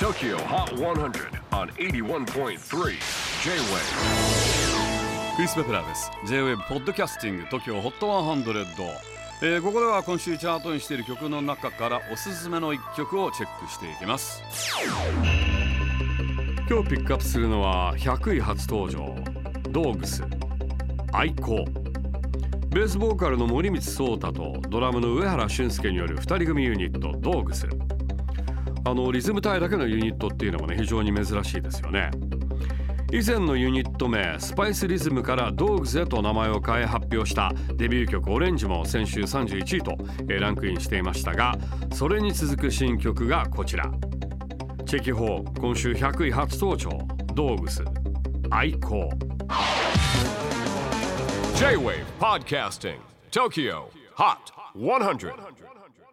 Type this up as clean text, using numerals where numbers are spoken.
TOKYO HOT 100 on 81.3 J-WAVE クリス・ベプラーです。 J-WAVE ポッドキャスティング TOKYO HOT 100、ここでは今週チャートにしている曲の中からおすすめの一曲をチェックしていきます。今日ピックアップするのは100位初登場、ドーグス愛好。ベースボーカルの森光壮太とドラムの上原俊介による2人組ユニットドーグス。リズム隊だけのユニットっていうのもね、非常に珍しいですよね。以前のユニット名スパイスリズムからドーグスへと名前を変え発表したデビュー曲オレンジも先週31位とランクインしていましたが、それに続く新曲がこちら。チェキホー今週100位初登場、ドーグス愛好。 J-WAVE PODCASTING TOKYO HOT 100